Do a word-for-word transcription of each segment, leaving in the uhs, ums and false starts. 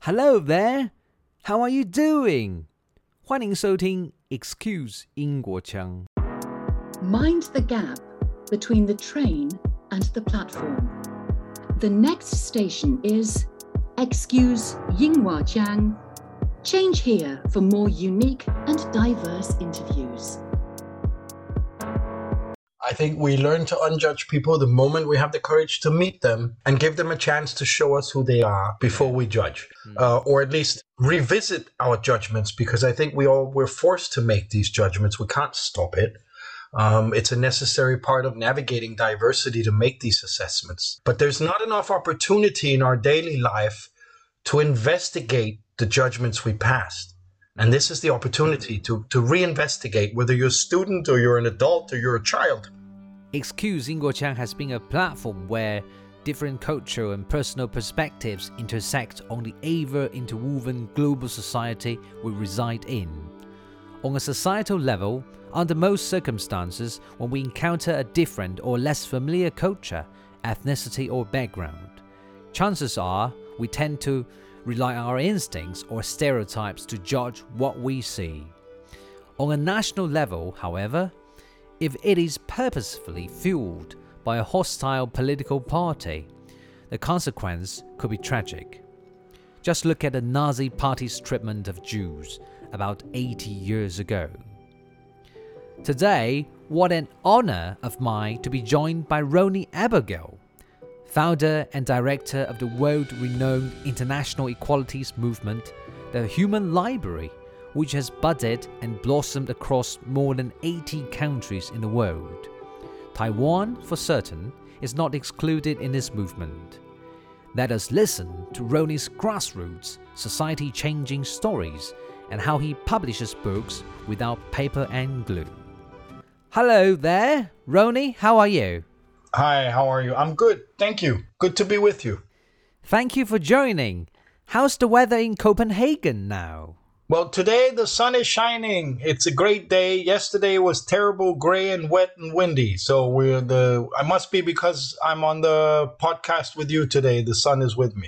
Hello there, how are you doing? 欢迎收听 Excuse 英国腔。 Mind the gap between the train and the platform. The next station is Excuse Yinghua Change here for more unique and diverse interviews. I think we learn to unjudge people the moment we have the courage to meet them and give them a chance to show us who they are before we judge, mm. uh, or at least revisit our judgments, because I think we all we're forced to make these judgments. We can't stop it. Um, it's a necessary part of navigating diversity to make these assessments. But there's not enough opportunity in our daily life to investigate the judgments we passed. And this is the opportunity to, to reinvestigate whether you're a student or you're an adult or you're a child. Excuse 英国腔 has been a platform where different cultural and personal perspectives intersect on the ever-interwoven global society we reside in. On a societal level, under most circumstances, when we encounter a different or less familiar culture, ethnicity or background, chances are we tend to rely on our instincts or stereotypes to judge what we see. On a national level, however, if it is purposefully fueled by a hostile political party, the consequence could be tragic. Just look at the Nazi Party's treatment of Jews about eighty years ago. Today, what an honor of mine to be joined by Roni Abergel, founder and director of the world-renowned international equalities movement, the Human Library, which has budded and blossomed across more than eighty countries in the world. Taiwan, for certain, is not excluded in this movement. Let us listen to Roni's grassroots, society-changing stories and how he publishes books without paper and glue. Hello there, Roni, how are you? Hi, how are you? I'm good, thank you. Good to be with you. Thank you for joining. How's the weather in Copenhagen now? Well, today the sun is shining. It's a great day. Yesterday was terrible, gray and wet and windy. So we're the. I must be because I'm on the podcast with you today. The sun is with me.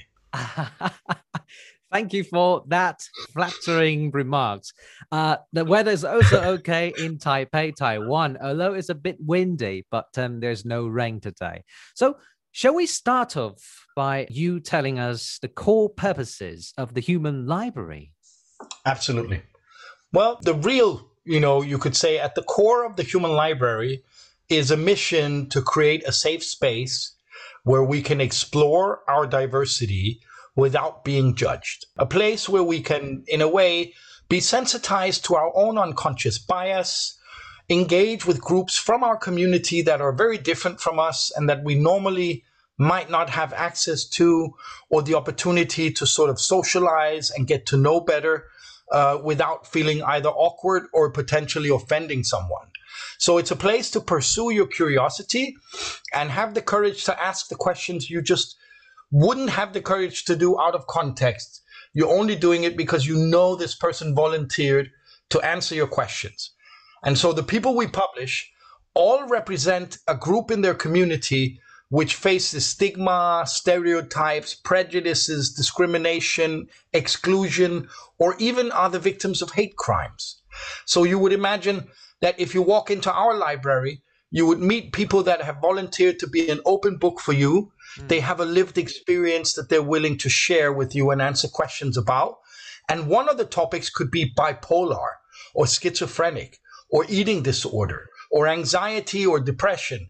Thank you for that flattering remarks. Uh, the weather is also okay in Taipei, Taiwan, although it's a bit windy, but um, there's no rain today. So shall we start off by you telling us the core purposes of the Human Library? Absolutely. Well, the real, you know, you could say at the core of the Human Library is a mission to create a safe space where we can explore our diversity without being judged. A place where we can, in a way, be sensitized to our own unconscious bias, engage with groups from our community that are very different from us and that we normally might not have access to, or the opportunity to sort of socialize and get to know better uh, without feeling either awkward or potentially offending someone. So it's a place to pursue your curiosity and have the courage to ask the questions you just wouldn't have the courage to do out of context. You're only doing it because you know this person volunteered to answer your questions. And so the people we publish all represent a group in their community which faces stigma, stereotypes, prejudices, discrimination, exclusion, or even are the victims of hate crimes. So you would imagine that if you walk into our library, you would meet people that have volunteered to be an open book for you. Mm. They have a lived experience that they're willing to share with you and answer questions about. And one of the topics could be bipolar or schizophrenic or eating disorder or anxiety or depression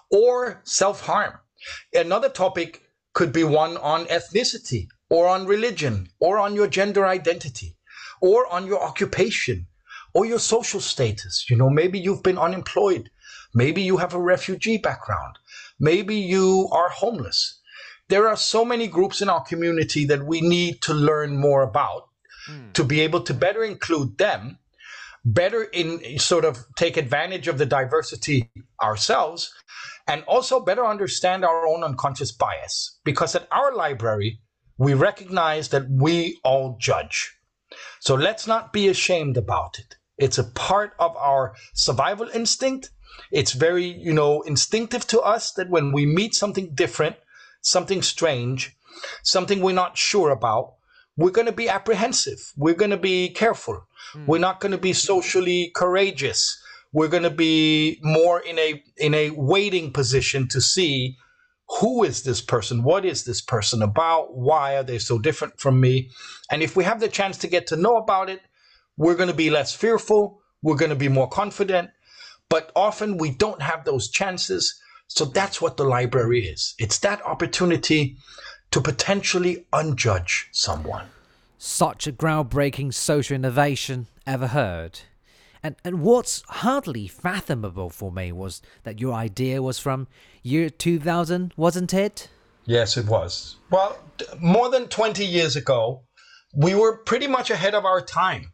or self-harm. Another topic could be one on ethnicity or on religion or on your gender identity or on your occupation or your social status. You know, maybe you've been unemployed. Maybe you have a refugee background. Maybe you are homeless. There are so many groups in our community that we need to learn more about mm. to be able to better include them, better in sort of take advantage of the diversity ourselves, and also better understand our own unconscious bias. Because at our library, we recognize that we all judge. So let's not be ashamed about it. It's a part of our survival instinct. It's very, you know, instinctive to us that when we meet something different, something strange, something we're not sure about, we're going to be apprehensive. We're going to be careful. Mm. We're not going to be socially courageous. We're going to be more in a in a waiting position to see who is this person? What is this person about? Why are they so different from me? And if we have the chance to get to know about it, we're going to be less fearful. We're going to be more confident. But often we don't have those chances. So that's what the library is. It's that opportunity to potentially unjudge someone. Such a groundbreaking social innovation ever heard. And and what's hardly fathomable for me was that your idea was from year two thousand, wasn't it? Yes, it was. Well, more than twenty years ago, we were pretty much ahead of our time.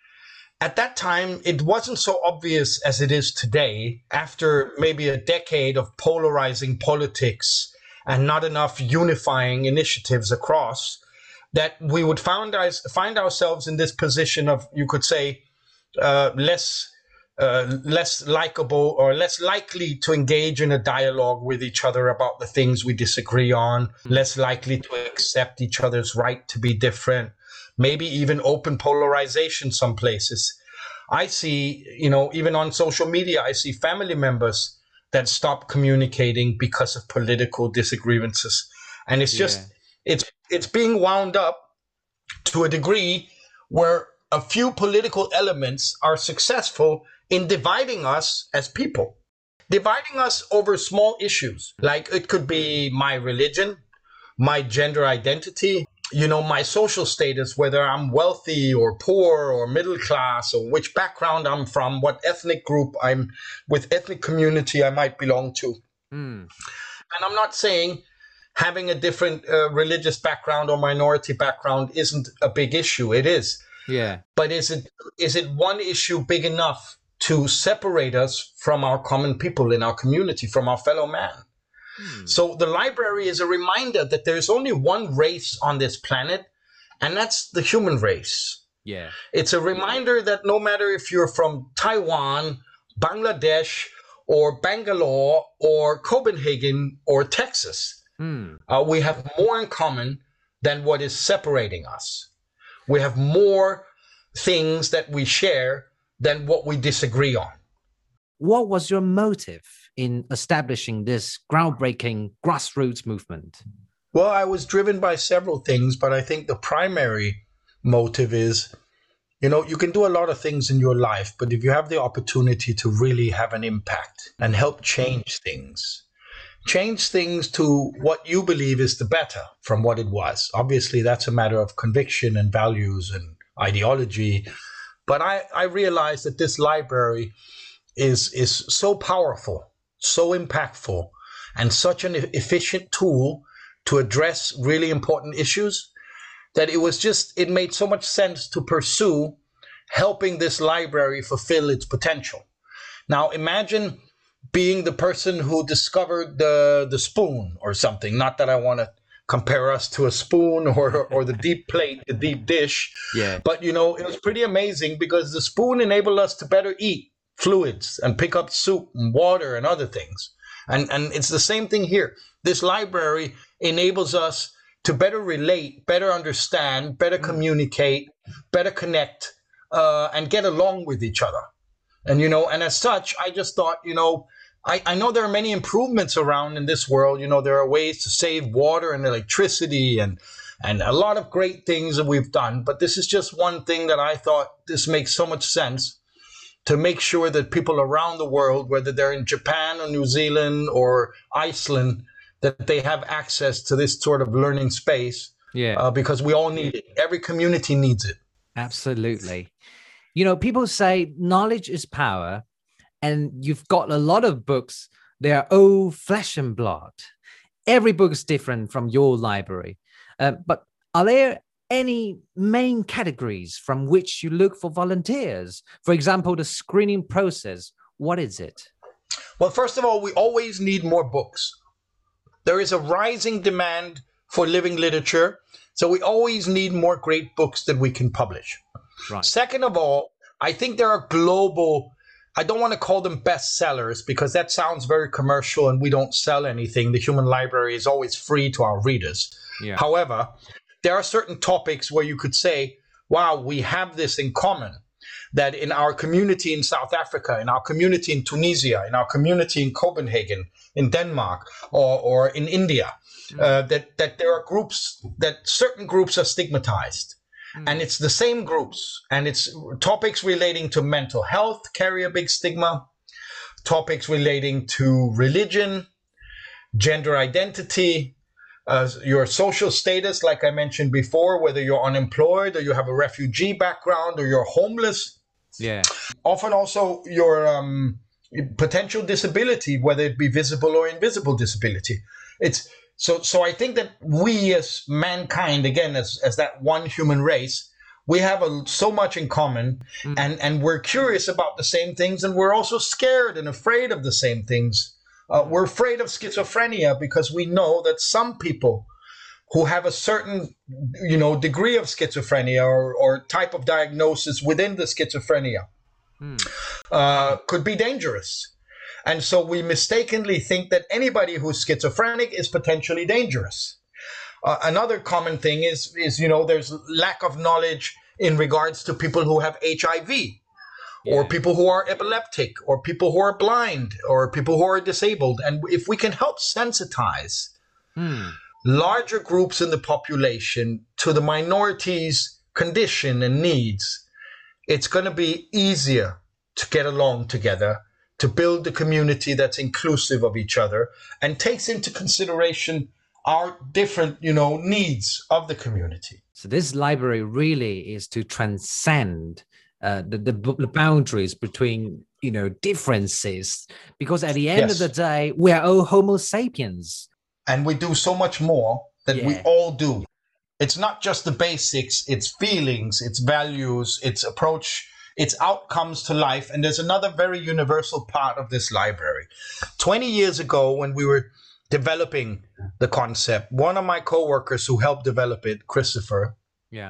At that time, it wasn't so obvious as it is today, after maybe a decade of polarizing politics and not enough unifying initiatives across, that we would find, our, find ourselves in this position of, you could say, Uh, less uh, less likable or less likely to engage in a dialogue with each other about the things we disagree on, less likely to accept each other's right to be different, maybe even open polarization some places. I see, you know, even on social media, I see family members that stop communicating because of political disagreements. And it's just, yeah. it's it's being wound up to a degree where a few political elements are successful in dividing us as people, dividing us over small issues. Like it could be my religion, my gender identity, you know, my social status, whether I'm wealthy or poor or middle class, or which background I'm from, what ethnic group I'm with, ethnic community I might belong to. Mm. And I'm not saying having a different uh, religious background or minority background isn't a big issue. It is. Yeah. But is it is it one issue big enough to separate us from our common people in our community, from our fellow man? Hmm. So the library is a reminder that there is only one race on this planet, and that's the human race. Yeah. It's a reminder that no matter if you're from Taiwan, Bangladesh, or Bangalore, or Copenhagen, or Texas, hmm. uh, we have more in common than what is separating us. We have more things that we share than what we disagree on. What was your motive in establishing this groundbreaking grassroots movement? Well, I was driven by several things, but I think the primary motive is, you know, you can do a lot of things in your life, but if you have the opportunity to really have an impact and help change things, change things to what you believe is the better from what it was. Obviously, that's a matter of conviction and values and ideology. But I, I realized that this library is, is so powerful, so impactful, and such an efficient tool to address really important issues that it was just, it made so much sense to pursue helping this library fulfill its potential. Now, imagine being the person who discovered the the spoon or something. Not that I want to compare us to a spoon or or the deep plate, the deep dish. Yeah. But, you know, it was pretty amazing because the spoon enabled us to better eat fluids and pick up soup and water and other things. And, and it's the same thing here. This library enables us to better relate, better understand, better communicate, better connect, uh, and get along with each other. And, you know, and as such, I just thought, you know, I, I know there are many improvements around in this world. You know, there are ways to save water and electricity and and a lot of great things that we've done. But this is just one thing that I thought this makes so much sense to make sure that people around the world, whether they're in Japan or New Zealand or Iceland, that they have access to this sort of learning space. Yeah. Uh, because we all need it. Every community needs it. Absolutely. You know, people say knowledge is power. And you've got a lot of books. They are all flesh and blood. Every book is different from your library. Uh, but are there any main categories from which you look for volunteers? For example, the screening process. What is it? Well, first of all, we always need more books. There is a rising demand for living literature. So we always need more great books that we can publish. Right. Second of all, I think there are global, I don't want to call them bestsellers because that sounds very commercial and we don't sell anything. The Human Library is always free to our readers. Yeah. However, there are certain topics where you could say, wow, we have this in common, that in our community in South Africa, in our community in Tunisia, in our community in Copenhagen, in Denmark, or, or in India, mm. uh, that, that there are groups, that certain groups are stigmatized. Mm. And it's the same groups, and it's topics relating to mental health carry a big stigma, topics relating to religion, gender identity, uh, your social status, like I mentioned before, whether you're unemployed or you have a refugee background or you're homeless. Yeah. Often also your um, potential disability, whether it be visible or invisible disability. It's so. So I think that we, as mankind, again, as as that one human race, we have a, so much in common, mm. and and we're curious about the same things, and we're also scared and afraid of the same things. Uh, we're afraid of schizophrenia because we know that some people who have a certain, you know, degree of schizophrenia or, or type of diagnosis within the schizophrenia hmm. uh, could be dangerous. And so we mistakenly think that anybody who's schizophrenic is potentially dangerous. Uh, another common thing is, is, you know, there's lack of knowledge in regards to people who have H I V. Or people who are epileptic, or people who are blind, or people who are disabled. And if we can help sensitize hmm. larger groups in the population to the minorities' condition and needs, it's going to be easier to get along together, to build a community that's inclusive of each other and takes into consideration our different, you know, needs of the community. So this library really is to transcend Uh, the, the the boundaries between, you know, differences, because at the end yes. of the day, we are all Homo sapiens, and we do so much more that yeah. we all do. It's not just the basics; it's feelings, it's values, it's approach, it's outcomes to life. And there's another very universal part of this library. Twenty years ago, when we were developing the concept, one of my coworkers who helped develop it, Christopher, yeah.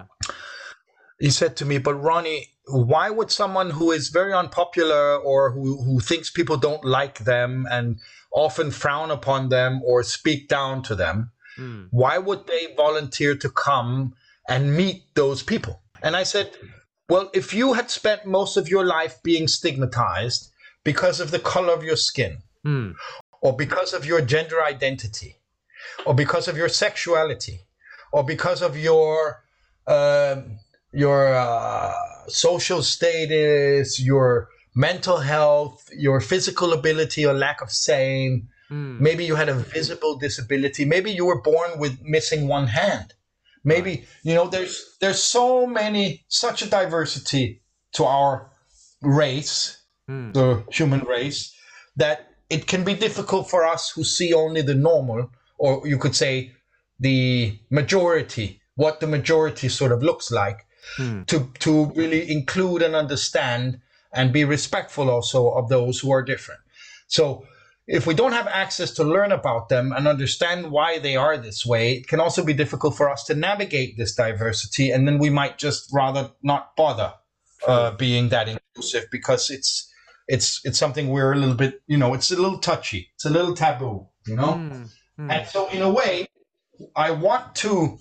he said to me, but Ronnie, why would someone who is very unpopular or who, who thinks people don't like them and often frown upon them or speak down to them, mm. why would they volunteer to come and meet those people? And I said, well, if you had spent most of your life being stigmatized because of the color of your skin, mm. or because of your gender identity, or because of your sexuality, or because of your... Uh, your uh, social status, your mental health, your physical ability or lack of same. Mm. Maybe you had a visible disability. Maybe you were born with missing one hand. Maybe, right. you know, there's there's so many, such a diversity to our race, mm. the human race, that it can be difficult for us who see only the normal, or you could say the majority, what the majority sort of looks like. Hmm. to to really include and understand and be respectful also of those who are different. So if we don't have access to learn about them and understand why they are this way, it can also be difficult for us to navigate this diversity, and then we might just rather not bother uh, being that inclusive because it's it's it's something we're a little bit, you know, it's a little touchy, it's a little taboo, you know. Hmm. Hmm. And so in a way, I want to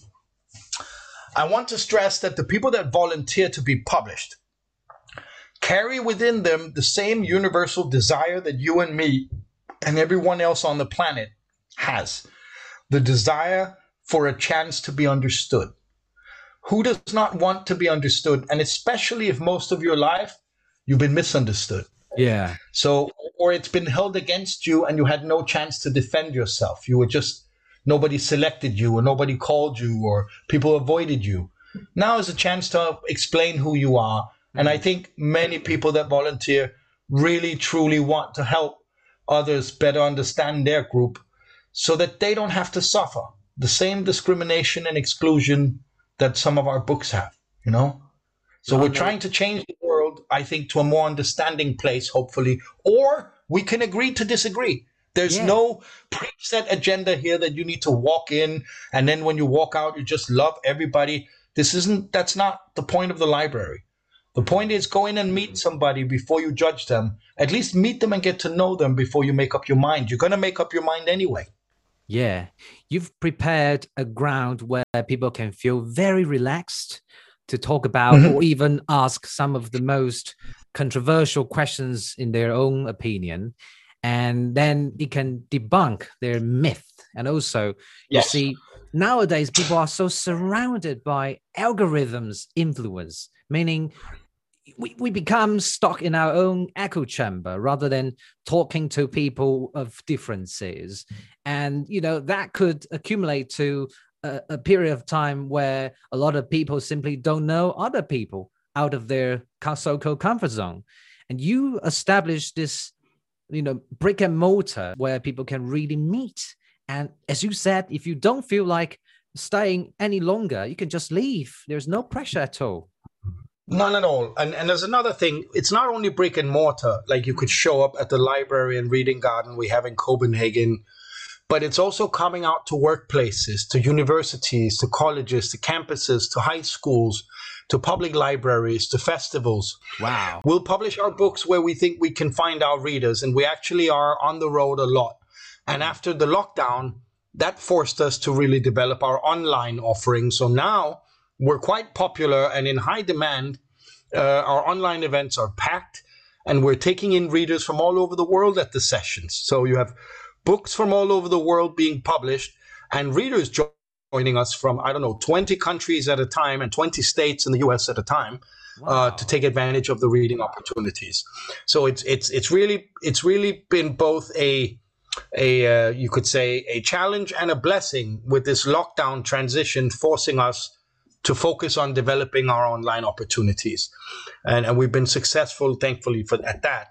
I want to stress that the people that volunteer to be published carry within them the same universal desire that you and me and everyone else on the planet has. The desire for a chance to be understood. Who does not want to be understood? And especially if most of your life you've been misunderstood. Yeah. So, or it's been held against you and you had no chance to defend yourself. You were just nobody selected you, or nobody called you, or people avoided you. Now is a chance to explain who you are. And I think many people that volunteer really, truly want to help others better understand their group so that they don't have to suffer the same discrimination and exclusion that some of our books have, you know? So we're trying to change the world, I think, to a more understanding place, hopefully, or we can agree to disagree. There's yeah. no preset agenda here that you need to walk in and then when you walk out, you just love everybody. This isn't, that's not the point of the library. The point is go in and meet somebody before you judge them. At least meet them and get to know them before you make up your mind. You're going to make up your mind anyway. Yeah, you've prepared a ground where people can feel very relaxed to talk about or Mhm. even ask some of the most controversial questions in their own opinion. And then it can debunk their myth. And also, you Yes. see, nowadays people are so surrounded by algorithms influence, meaning we, we become stuck in our own echo chamber rather than talking to people of differences. And, you know, that could accumulate to a, a period of time where a lot of people simply don't know other people out of their so-called comfort zone. And you establish this, you know, brick and mortar where people can really meet. And as you said, if you don't feel like staying any longer, you can just leave. There's no pressure at all. None at all. And and there's another thing. It's not only brick and mortar, like you could show up at the library and reading garden we have in Copenhagen, but it's also coming out to workplaces, to universities, to colleges, to campuses, to high schools, to public libraries, to festivals. Wow. We'll publish our books where we think we can find our readers, and we actually are on the road a lot. And after the lockdown, that forced us to really develop our online offering. So now we're quite popular and in high demand. Uh, our online events are packed, and we're taking in readers from all over the world at the sessions. So you have books from all over the world being published, and readers jo- joining us from, I don't know, twenty countries at a time and twenty states in the U S at a time. Wow. uh, to take advantage of the reading opportunities. So it's it's it's really it's really been both a a uh, you could say a challenge and a blessing with this lockdown transition, forcing us to focus on developing our online opportunities, and and we've been successful, thankfully, for at that.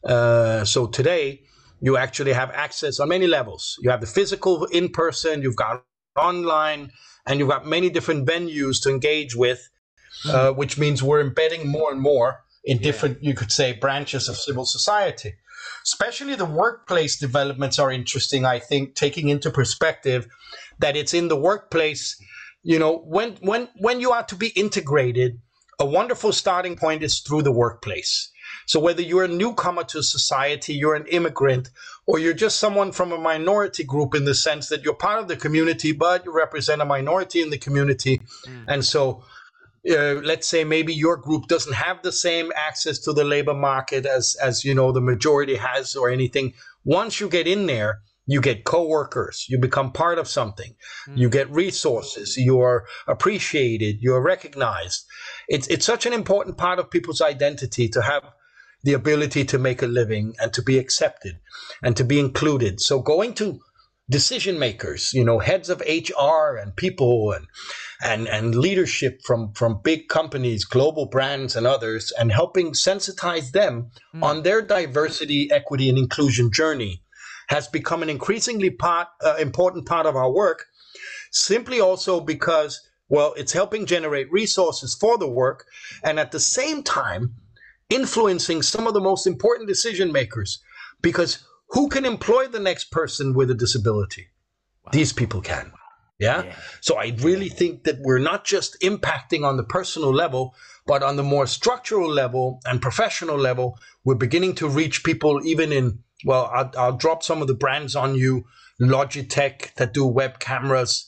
Uh, so today, you actually have access on many levels. You have the physical in person, you've got online, and you've got many different venues to engage with, mm. uh, which means we're embedding more and more in yeah. different, you could say, branches of civil society. Especially the workplace developments are interesting, I think, taking into perspective that it's in the workplace. You know, when when when you are to be integrated, a wonderful starting point is through the workplace. So whether you're a newcomer to society, you're an immigrant, or you're just someone from a minority group in the sense that you're part of the community, but you represent a minority in the community. Mm. And so uh, let's say maybe your group doesn't have the same access to the labor market as, as, you know, the majority has or anything. Once you get in there, you get coworkers, you become part of something, mm. you get resources, you're appreciated, you're recognized. It's, it's such an important part of people's identity to have the ability to make a living and to be accepted and to be included. So going to decision makers, you know, heads of H R and people and and and leadership from, from big companies, global brands and others, and helping sensitize them mm. on their diversity, equity, and inclusion journey has become an increasingly part, uh, important part of our work, simply also because, well, it's helping generate resources for the work and at the same time influencing some of the most important decision makers, because who can employ the next person with a disability? Wow. These people can. Yeah? yeah. So I really think that we're not just impacting on the personal level, but on the more structural level and professional level, we're beginning to reach people even in, well, I'll, I'll drop some of the brands on you, Logitech that do web cameras,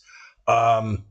um,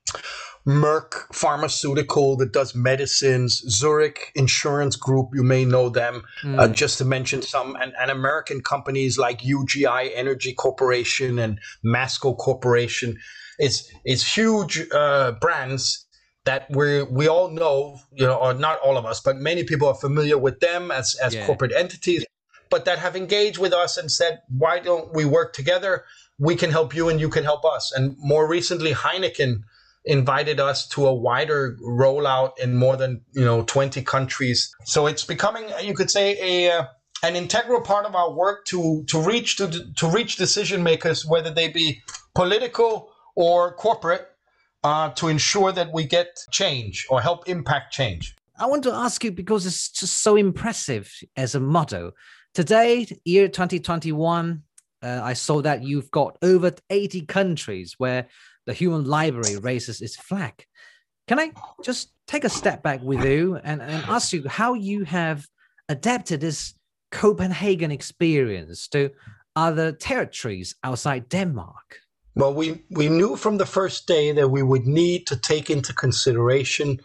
Merck Pharmaceutical that does medicines, Zurich Insurance Group, you may know them, mm. uh, just to mention some, and, and American companies like U G I Energy Corporation and Masco Corporation. It's it's huge uh, brands that we we all know, you know, or not all of us, but many people are familiar with them as, as yeah. corporate entities, but that have engaged with us and said, why don't we work together? We can help you and you can help us. And more recently, Heineken invited us to a wider rollout in more than, you know, twenty countries. So it's becoming, you could say, a uh, an integral part of our work to to reach to to reach decision makers, whether they be political or corporate, uh, to ensure that we get change or help impact change. I want to ask you, because it's just so impressive as a motto. Today, year twenty twenty-one, uh, I saw that you've got over eighty countries where the Human Library raises its flag. Can I just take a step back with you and, and ask you how you have adapted this Copenhagen experience to other territories outside Denmark? Well, we, we knew from the first day that we would need to take into consideration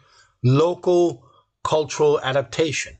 local cultural adaptation.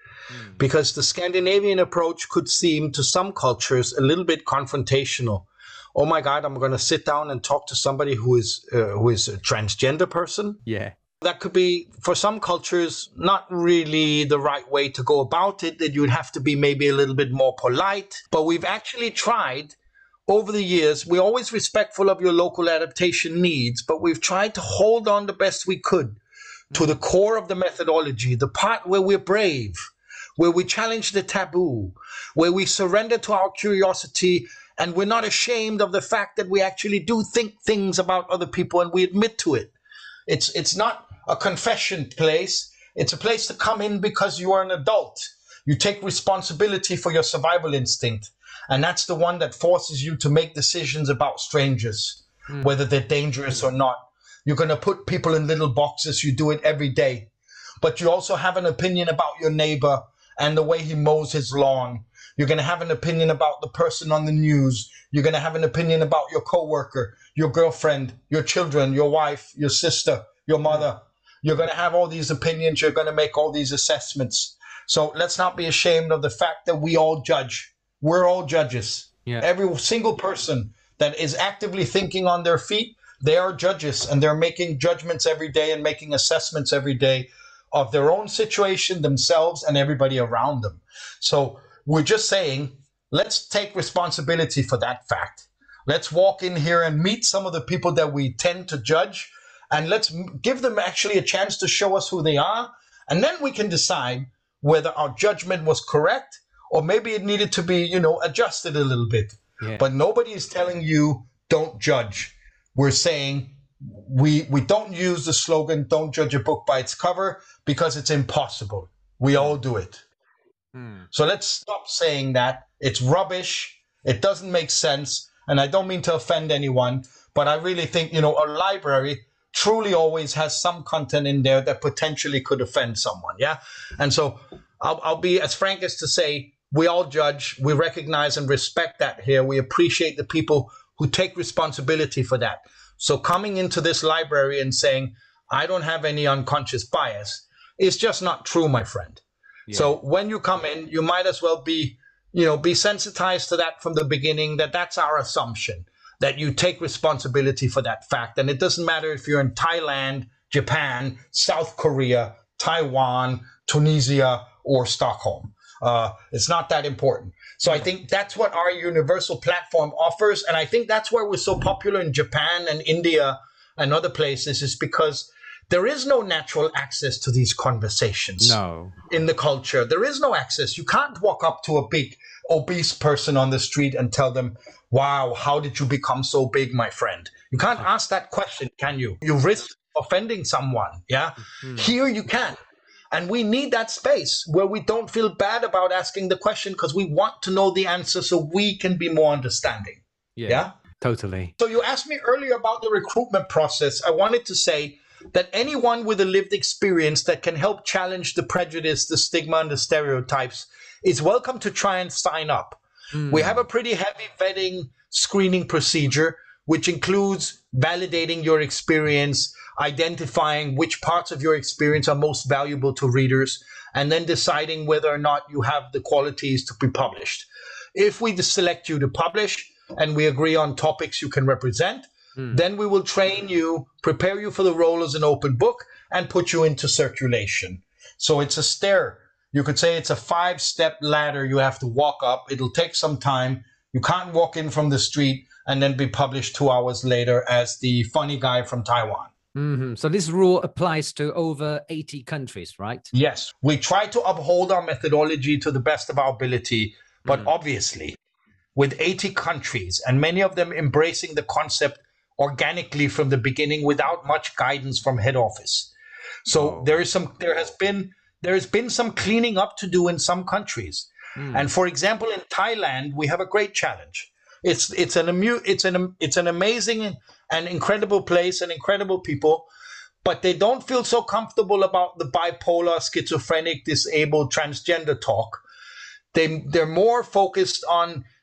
Mm. Because the Scandinavian approach could seem to some cultures a little bit confrontational. Oh my God, I'm going to sit down and talk to somebody who is uh, who is a transgender person. Yeah. That could be, for some cultures, not really the right way to go about it, that you'd have to be maybe a little bit more polite. But we've actually tried over the years. We're always respectful of your local adaptation needs, but we've tried to hold on the best we could to the core of the methodology, the part where we're brave, where we challenge the taboo, where we surrender to our curiosity, and we're not ashamed of the fact that we actually do think things about other people and we admit to it. It's it's not a confession place. It's a place to come in because you are an adult. You take responsibility for your survival instinct. And that's the one that forces you to make decisions about strangers, mm. whether they're dangerous or not. You're going to put people in little boxes. You do it every day. But you also have an opinion about your neighbor and the way he mows his lawn. You're going to have an opinion about the person on the news. You're going to have an opinion about your coworker, your girlfriend, your children, your wife, your sister, your mother. You're going to have all these opinions. You're going to make all these assessments. So let's not be ashamed of the fact that we all judge. We're all judges. Yeah. Every single person that is actively thinking on their feet, they are judges, and they're making judgments every day and making assessments every day of their own situation, themselves, and everybody around them. So we're just saying, let's take responsibility for that fact. Let's walk in here and meet some of the people that we tend to judge, and let's give them actually a chance to show us who they are. And then we can decide whether our judgment was correct or maybe it needed to be, you know, adjusted a little bit. Yeah. But nobody is telling you don't judge. We're saying we we don't use the slogan, don't judge a book by its cover, because it's impossible. We all do it. Hmm. So let's stop saying that. It's rubbish. It doesn't make sense. And I don't mean to offend anyone, but I really think, you know, a library truly always has some content in there that potentially could offend someone. Yeah. And so I'll, I'll be as frank as to say, we all judge. We recognize and respect that here. We appreciate the people who take responsibility for that. So coming into this library and saying, I don't have any unconscious bias, is just not true, my friend. Yeah. So when you come in, you might as well be, you know, be sensitized to that from the beginning, that that's our assumption, that you take responsibility for that fact. And it doesn't matter if you're in Thailand, Japan, South Korea, Taiwan, Tunisia, or Stockholm. Uh, it's not that important. So I think that's what our universal platform offers. And I think that's why we're so popular in Japan and India and other places, is because there is no natural access to these conversations. No. In the culture. There is no access. You can't walk up to a big obese person on the street and tell them, wow, how did you become so big, my friend? You can't ask that question, can you? You risk offending someone. Yeah. Mm-hmm. Here you can. And we need that space where we don't feel bad about asking the question, because we want to know the answer so we can be more understanding. Yeah, yeah, totally. So you asked me earlier about the recruitment process. I wanted to say that anyone with a lived experience that can help challenge the prejudice, the stigma, and the stereotypes is welcome to try and sign up. Mm. We have a pretty heavy vetting screening procedure, which includes validating your experience, identifying which parts of your experience are most valuable to readers, and then deciding whether or not you have the qualities to be published. If we select you to publish and we agree on topics you can represent, mm. then we will train you, prepare you for the role as an open book, and put you into circulation. So it's a stair. You could say it's a five-step ladder you have to walk up. It'll take some time. You can't walk in from the street and then be published two hours later as the funny guy from Taiwan. Mm-hmm. So this rule applies to over eighty countries, right? Yes. We try to uphold our methodology to the best of our ability, but mm. obviously with eighty countries and many of them embracing the concept organically from the beginning without much guidance from head office. So oh. there is some, there has been, there has been some cleaning up to do in some countries. Mm. And for example, in Thailand, we have a great challenge. It's it's an amu- it's an it's an amazing and incredible place and incredible people, but they don't feel so comfortable about the bipolar, schizophrenic, disabled, transgender talk. They they're more focused on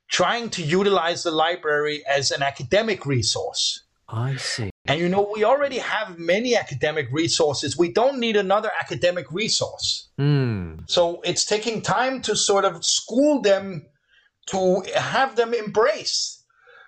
trying to utilize the library as an academic resource. I see. And you know, we already have many academic resources. We don't need another academic resource. Mm. So it's taking time to sort of school them, to have them embrace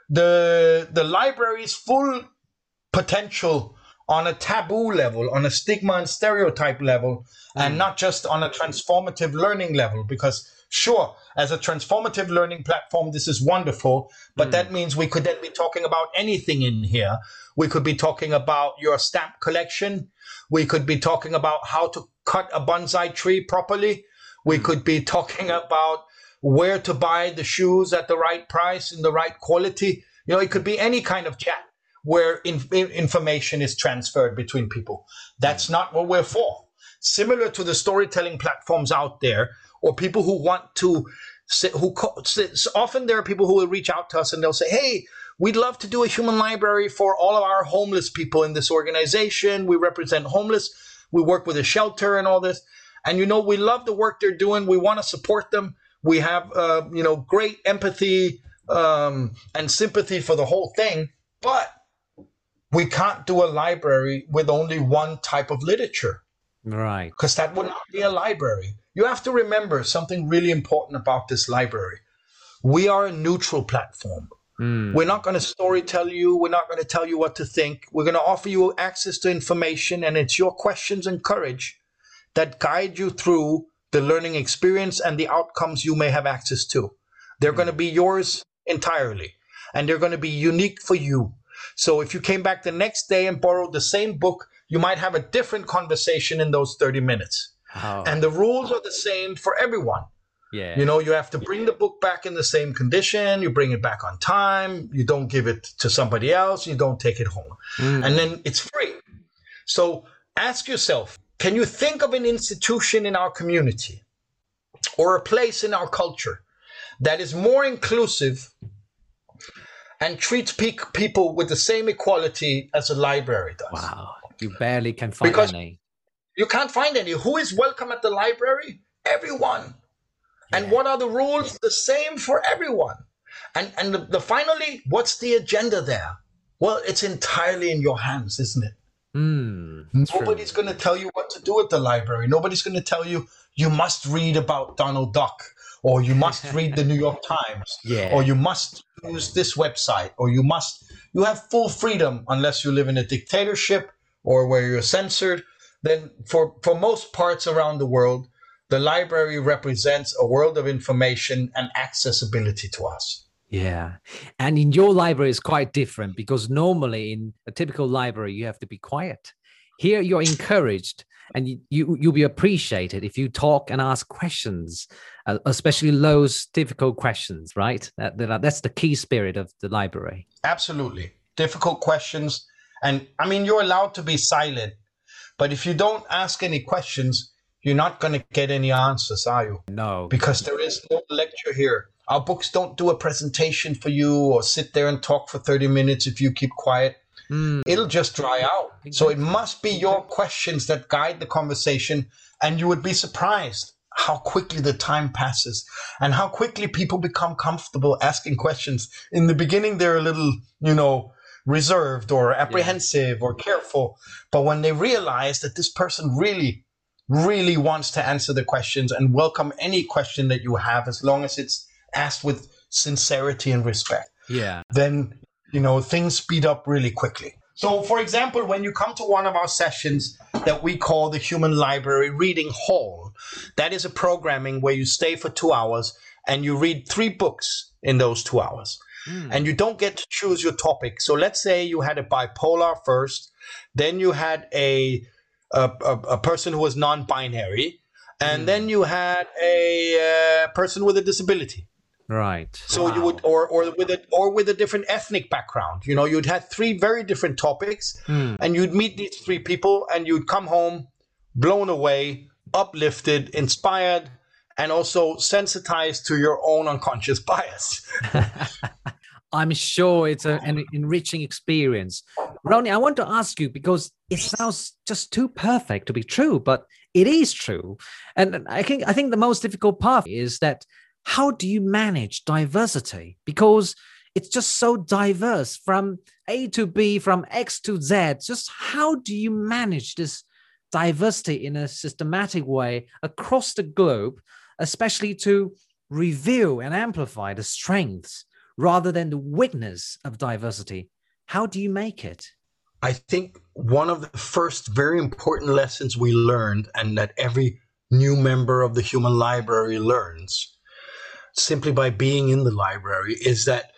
the the library's full potential on a taboo level, on a stigma and stereotype level, mm. and not just on a transformative learning level. Because sure, as a transformative learning platform, this is wonderful, but mm. that means we could then be talking about anything in here. We could be talking about your stamp collection. We could be talking about how to cut a bonsai tree properly. We mm. could be talking about where to buy the shoes at the right price in the right quality. You know, it could be any kind of chat where in, in, information is transferred between people. That's mm. not what we're for. Similar to the storytelling platforms out there, or people who want to, who often there are people who will reach out to us and they'll say, hey, we'd love to do a human library for all of our homeless people in this organization. We represent homeless. We work with a shelter and all this. And, you know, we love the work they're doing. We want to support them. We have, uh, you know, great empathy um, and sympathy for the whole thing. But we can't do a library with only one type of literature. Right. Because that would not be a library. You have to remember something really important about this library. We are a neutral platform. Mm. We're not going to story tell you. We're not going to tell you what to think. We're going to offer you access to information, and it's your questions and courage that guide you through the learning experience and the outcomes you may have access to. They're mm. going to be yours entirely, and they're going to be unique for you. So if you came back the next day and borrowed the same book, you might have a different conversation in those thirty minutes. Oh. And the rules are the same for everyone. Yeah. You know, you have to bring the book back in the same condition. You bring it back on time. You don't give it to somebody else. You don't take it home. Mm. And then it's free. So ask yourself, can you think of an institution in our community or a place in our culture that is more inclusive and treats pe- people with the same equality as a library does? Wow. You barely can find because any. You can't find any. Who is welcome at the library? Everyone. Yeah. And what are the rules? The same for everyone. And and the, the finally, what's the agenda there? Well, it's entirely in your hands, isn't it? Mm, Nobody's going to tell you what to do at the library. Nobody's going to tell you, you must read about Donald Duck, or you must read the New York Times, yeah. or you must use this website, or you must, you have full freedom unless you live in a dictatorship or where you're censored. Then for, for most parts around the world, the library represents a world of information and accessibility to us. Yeah. And in your library is quite different, because normally in a typical library, you have to be quiet. Here you're encouraged, and you, you, you'll be appreciated if you talk and ask questions, uh, especially those difficult questions, right? That, that, that's the key spirit of the library. Absolutely. Difficult questions. And I mean, you're allowed to be silent, but if you don't ask any questions, you're not going to get any answers, are you? No. Because there is no lecture here. Our books don't do a presentation for you or sit there and talk for thirty minutes if you keep quiet. Mm. It'll just dry out. Exactly. So it must be your questions that guide the conversation, and you would be surprised how quickly the time passes and how quickly people become comfortable asking questions. In the beginning, they're a little, you know, reserved or apprehensive yeah. or careful. But when they realize that this person really really wants to answer the questions and welcome any question that you have, as long as it's asked with sincerity and respect, yeah, then, you know, things speed up really quickly. So, for example, when you come to one of our sessions that we call the Human Library Reading Hall, that is a programming where you stay for two hours and you read three books in those two hours. Mm. And you don't get to choose your topic. So let's say you had a bipolar first, then you had a A, a, a person who was non-binary, and mm. then you had a uh, person with a disability. Right. So wow. you would, or or with a or with a different ethnic background. You know, you'd have three very different topics, mm. and you'd meet these three people, and you'd come home blown away, uplifted, inspired, and also sensitized to your own unconscious bias. I'm sure it's a, an enriching experience. Ronnie, I want to ask you, because it sounds just too perfect to be true, but it is true. And I think I think the most difficult part is that how do you manage diversity? Because it's just so diverse from A to B, from X to Z. Just how do you manage this diversity in a systematic way across the globe, especially to reveal and amplify the strengths rather than the weakness of diversity? How do you make it? I think one of the first very important lessons we learned, and that every new member of the Human Library learns simply by being in the library, is that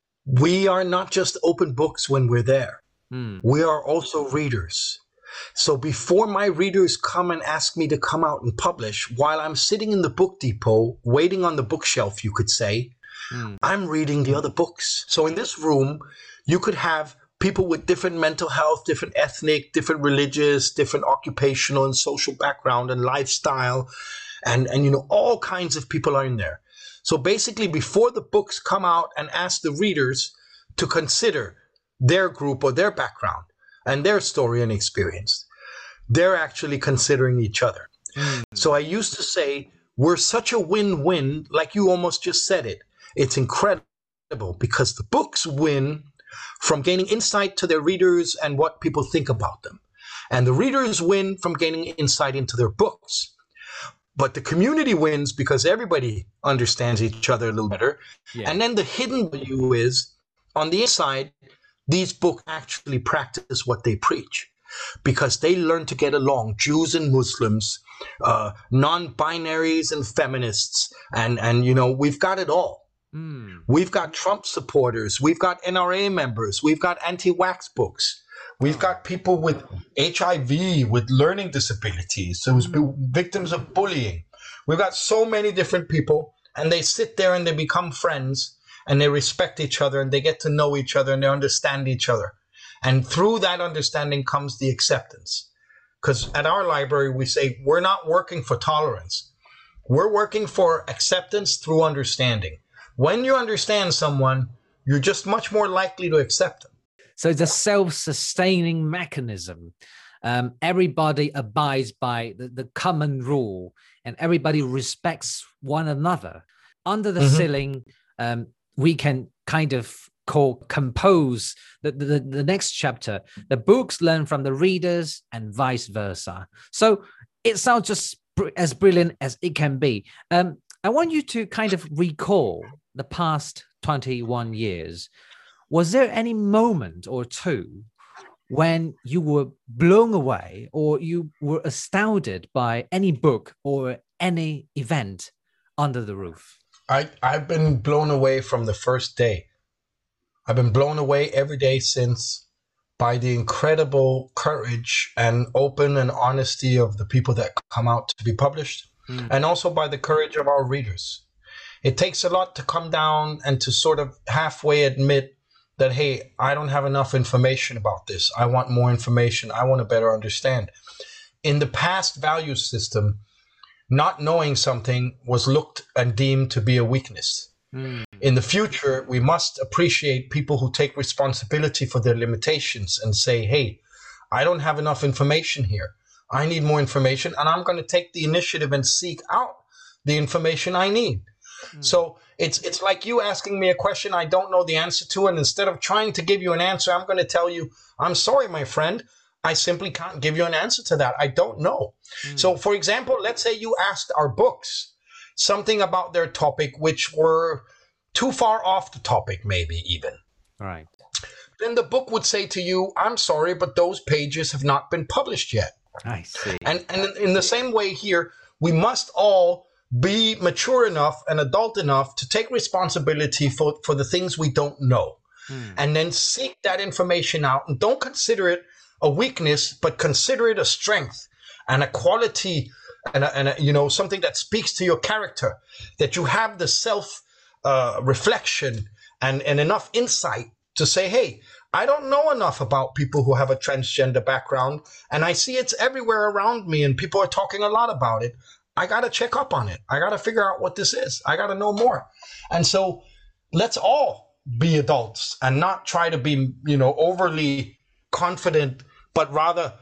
we are not just open books when we're there. Mm. We are also readers. So before my readers come and ask me to come out and publish, while I'm sitting in the book depot, waiting on the bookshelf, you could say, mm. I'm reading the other books. So in this room, you could have people with different mental health, different ethnic, different religious, different occupational and social background and lifestyle. And, and, you know, all kinds of people are in there. So basically, before the books come out and ask the readers to consider their group or their background and their story and experience, they're actually considering each other. Mm. So I used to say, we're such a win-win, like you almost just said it. It's incredible because the books win from gaining insight to their readers and what people think about them. And the readers win from gaining insight into their books. But the community wins because everybody understands each other a little better. Yeah. And then the hidden value is, on the inside, these books actually practice what they preach because they learn to get along, Jews and Muslims, uh, non-binaries and feminists. And, and, you know, we've got it all. Mm. We've got Trump supporters. We've got N R A members. We've got anti-wax books. We've got people with H I V, with learning disabilities, so victims of bullying. We've got so many different people, and they sit there and they become friends, and they respect each other, and they get to know each other, and they understand each other. And through that understanding comes the acceptance. Because at our library, we say, we're not working for tolerance. We're working for acceptance through understanding. When you understand someone, you're just much more likely to accept them. So it's a self-sustaining mechanism. Um, everybody abides by the, the common rule and everybody respects one another. Under the mm-hmm. ceiling, um, we can kind of call, compose the, the, the next chapter. The books learn from the readers and vice versa. So it sounds just br- as brilliant as it can be. Um, I want you to kind of recall the past twenty-one years. Was there any moment or two when you were blown away or you were astounded by any book or any event under the roof? I, I've been blown away from the first day. I've been blown away every day since by the incredible courage and open and honesty of the people that come out to be published, mm. and also by the courage of our readers. It takes a lot to come down and to sort of halfway admit that, hey, I don't have enough information about this. I want more information. I want to better understand. In the past value system, not knowing something was looked and deemed to be a weakness. Mm. In the future, we must appreciate people who take responsibility for their limitations and say, hey, I don't have enough information here. I need more information, and I'm going to take the initiative and seek out the information I need. Mm. So it's it's like you asking me a question I don't know the answer to, and instead of trying to give you an answer, I'm going to tell you, I'm sorry, my friend, I simply can't give you an answer to that. I don't know. Mm. So, for example, let's say you asked our books something about their topic which were too far off the topic, maybe even. Right. Then the book would say to you, I'm sorry, but those pages have not been published yet. I see. And, and in the same way here, we must all be mature enough and adult enough to take responsibility for, for the things we don't know. Mm. And then seek that information out, and don't consider it a weakness, but consider it a strength and a quality and, a, and a, you know, something that speaks to your character, that you have the self uh, reflection and, and enough insight to say, hey, I don't know enough about people who have a transgender background, and I see it's everywhere around me and people are talking a lot about it. I got to check up on it. I got to figure out what this is. I got to know more. And so let's all be adults and not try to be, you know, overly confident, but rather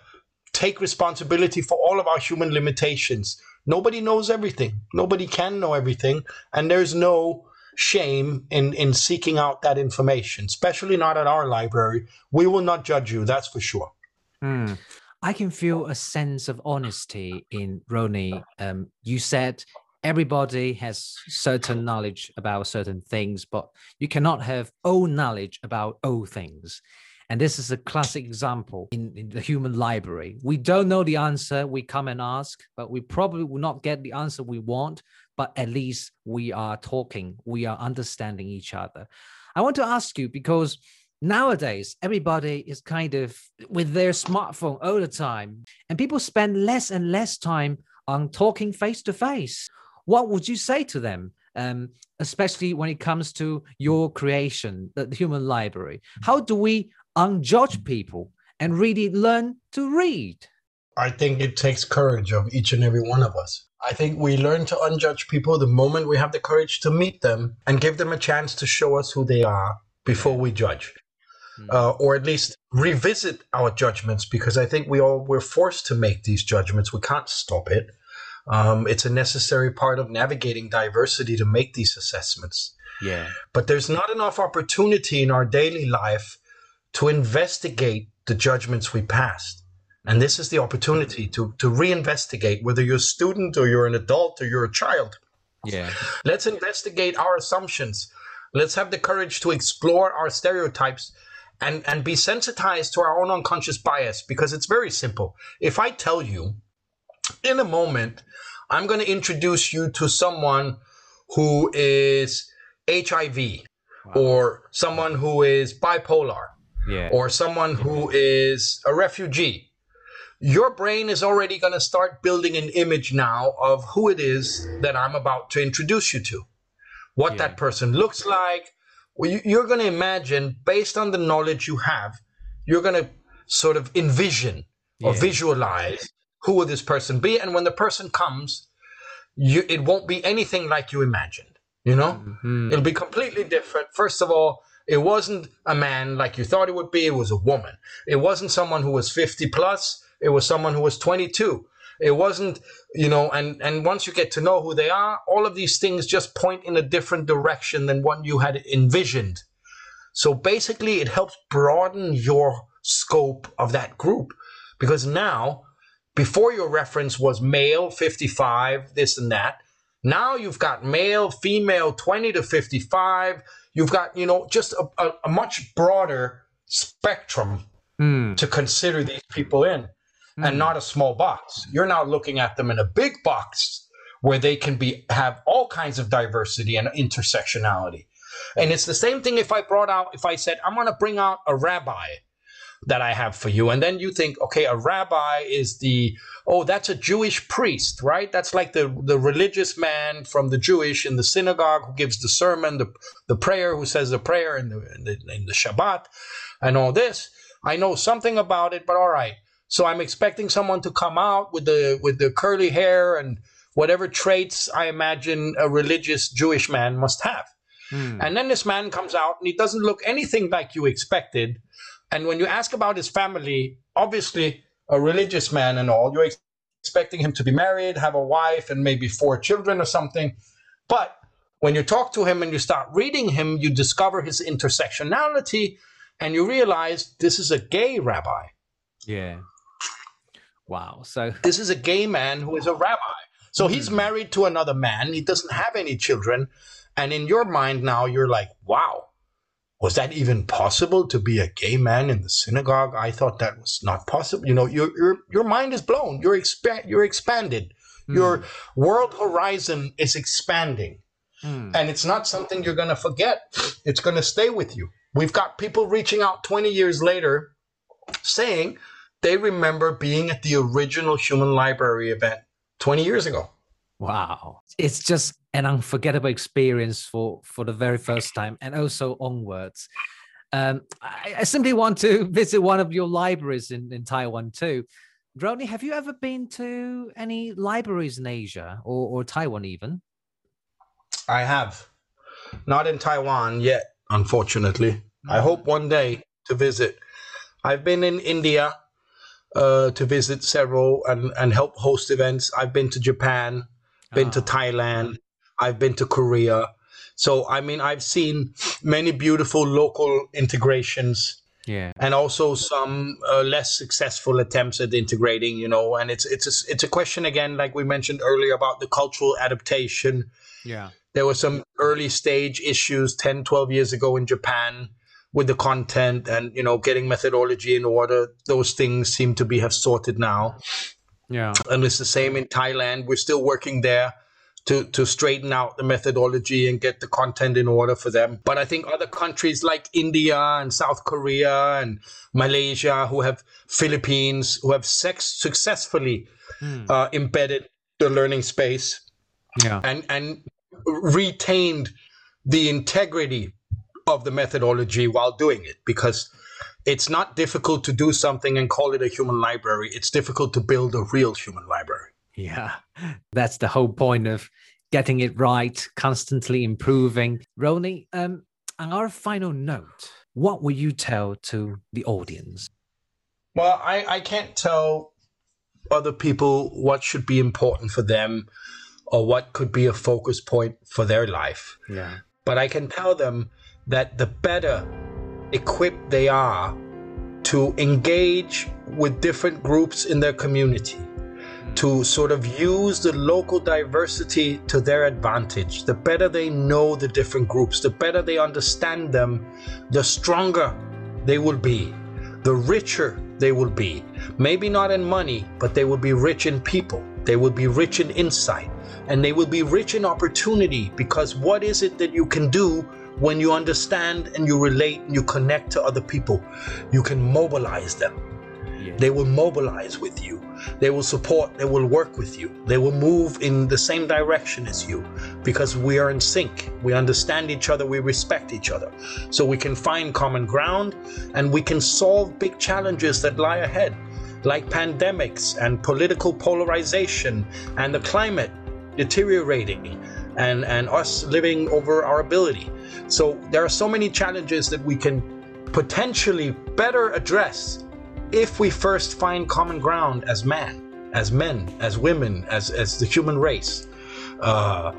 take responsibility for all of our human limitations. Nobody knows everything. Nobody can know everything. And there's no shame in, in seeking out that information, especially not at our library. We will not judge you, that's for sure. Hmm. I can feel a sense of honesty in Ronnie. Um, you said everybody has certain knowledge about certain things, but you cannot have all knowledge about all things. And this is a classic example in, in the human library. We don't know the answer, we come and ask, but we probably will not get the answer we want, but at least we are talking, we are understanding each other. I want to ask you, because nowadays, everybody is kind of with their smartphone all the time, and people spend less and less time on talking face to face. What would you say to them, um, especially when it comes to your creation, the, the human library? How do we unjudge people and really learn to read? I think it takes courage of each and every one of us. I think we learn to unjudge people the moment we have the courage to meet them and give them a chance to show us who they are before we judge. Uh, or at least revisit our judgments, because I think we all we're forced to make these judgments. We can't stop it. Um, it's a necessary part of navigating diversity to make these assessments. Yeah. But there's not enough opportunity in our daily life to investigate the judgments we passed. And this is the opportunity to, to reinvestigate, whether you're a student or you're an adult or you're a child. Yeah. Let's investigate our assumptions. Let's have the courage to explore our stereotypes and, and be sensitized to our own unconscious bias, because it's very simple. If I tell you, in a moment, I'm going to introduce you to someone who is H I V, wow, or someone who is bipolar, yeah, or someone who is a refugee, your brain is already going to start building an image now of who it is that I'm about to introduce you to, what yeah. that person looks like. Well, you, you're going to imagine, based on the knowledge you have, you're going to sort of envision or yeah. visualize who will this person be. And when the person comes, you, it won't be anything like you imagined, you know? Mm-hmm. It'll be completely different. First of all, it wasn't a man like you thought it would be. It was a woman. It wasn't someone who was fifty plus. It was someone who was twenty-two. It wasn't, you know, and, and once you get to know who they are, all of these things just point in a different direction than what you had envisioned. So basically, it helps broaden your scope of that group, because now, before your reference was male, fifty-five, this and that, now you've got male, female, twenty to fifty-five. You've got, you know, just a, a, a much broader spectrum mm. to consider these people in, mm. and not a small box. You're now looking at them in a big box where they can be have all kinds of diversity and intersectionality. And it's the same thing if I brought out, if I said, I'm going to bring out a rabbi that I have for you. And then you think, okay, a rabbi is the, oh, that's a Jewish priest, right? That's like the, the religious man from the Jewish in the synagogue who gives the sermon, the, the prayer, who says the prayer in the, in the, in the Shabbat and all this. I know something about it, but all right. So I'm expecting someone to come out with the, with the curly hair and whatever traits I imagine a religious Jewish man must have. Hmm. And then this man comes out and he doesn't look anything like you expected. And when you ask about his family, obviously a religious man and all, you're ex- expecting him to be married, have a wife, and maybe four children or something. But when you talk to him and you start reading him, you discover his intersectionality, and you realize this is a gay rabbi. Yeah. Wow. So this is a gay man who is a rabbi. So mm-hmm. he's married to another man. He doesn't have any children. And in your mind now, you're like, wow. Was that even possible to be a gay man in the synagogue? I thought that was not possible. You know, your your your mind is blown. You're expa- you're expanded. Mm. Your world horizon is expanding. Mm. And it's not something you're going to forget. It's going to stay with you. We've got people reaching out twenty years later saying they remember being at the original Human Library event twenty years ago. Wow. It's just an unforgettable experience for, for the very first time, and also onwards. Um, I, I simply want to visit one of your libraries in, in Taiwan too. Ronnie, have you ever been to any libraries in Asia or, or Taiwan even? I have. Not in Taiwan yet, unfortunately. Mm. I hope one day to visit. I've been in India. uh, to visit several and, and help host events. I've been to Japan, been oh. to Thailand, I've been to Korea. So, I mean, I've seen many beautiful local integrations. Yeah, and also some uh, less successful attempts at integrating, you know, and it's it's a, it's a question again, like we mentioned earlier, about the cultural adaptation. Yeah, there were some early stage issues ten, twelve years ago in Japan with the content and, you know, getting methodology in order. Those things seem to be have sorted now. Yeah, and it's the same in Thailand. We're still working there to to straighten out the methodology and get the content in order for them. But I think other countries like India and South Korea and Malaysia, who have Philippines, who have sex successfully mm. uh, embedded the learning space yeah. and, and retained the integrity of the methodology while doing it. Because it's not difficult to do something and call it a human library. It's difficult to build a real human library. Yeah, that's the whole point of getting it right, constantly improving. Ronnie, um, on our final note, what will you tell to the audience? Well, I, I can't tell other people what should be important for them or what could be a focus point for their life. Yeah. But I can tell them that the better equipped they are to engage with different groups in their community, to sort of use the local diversity to their advantage. The better they know the different groups, the better they understand them, the stronger they will be, the richer they will be. Maybe not in money, but they will be rich in people. They will be rich in insight, and they will be rich in opportunity, because what is it that you can do when you understand and you relate and you connect to other people? You can mobilize them. Yeah. They will mobilize with you. They will support, they will work with you. They will move in the same direction as you, because we are in sync. We understand each other, we respect each other. So we can find common ground and we can solve big challenges that lie ahead, like pandemics and political polarization and the climate deteriorating and, and us living over our ability. So there are so many challenges that we can potentially better address if we first find common ground as man, as men, as women, as as the human race. Uh,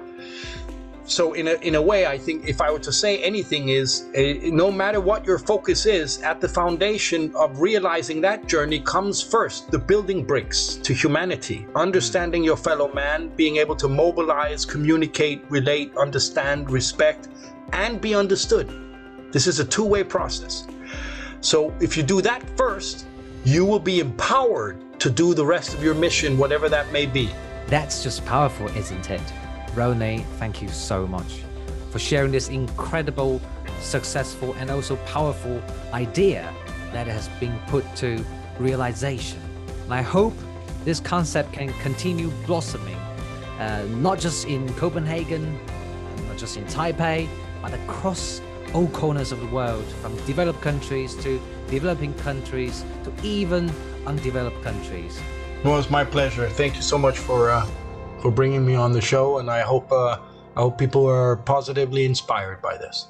so in a in a way, I think if I were to say anything is, uh, no matter what your focus is, at the foundation of realizing that journey comes first the building bricks to humanity, understanding your fellow man, being able to mobilize, communicate, relate, understand, respect, and be understood. This is a two-way process. So if you do that first, you will be empowered to do the rest of your mission, whatever that may be. That's just powerful, isn't it? Ronnie, thank you so much for sharing this incredible, successful, and also powerful idea that has been put to realization. And I hope this concept can continue blossoming, uh, not just in Copenhagen, not just in Taipei, but across all corners of the world, from developed countries to developing countries to even undeveloped countries. Well, it's my pleasure. Thank you so much for uh, for bringing me on the show, and I hope uh, I hope people are positively inspired by this.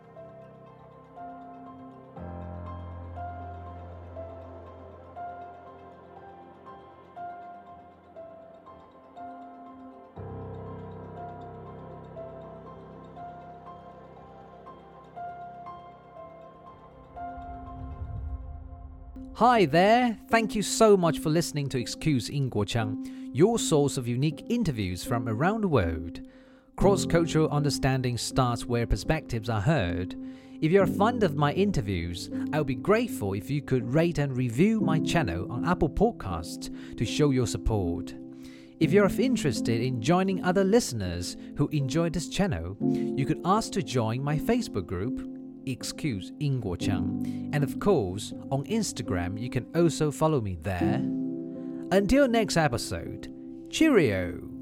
Hi there, thank you so much for listening to Excuse 英国腔, your source of unique interviews from around the world. Cross-cultural understanding starts where perspectives are heard. If you're fond of my interviews, I would be grateful if you could rate and review my channel on Apple Podcasts to show your support. If you're interested in joining other listeners who enjoy this channel, you could ask to join my Facebook group, Excuse 英国腔, and of course, on Instagram, you can also follow me there. Until next episode, cheerio!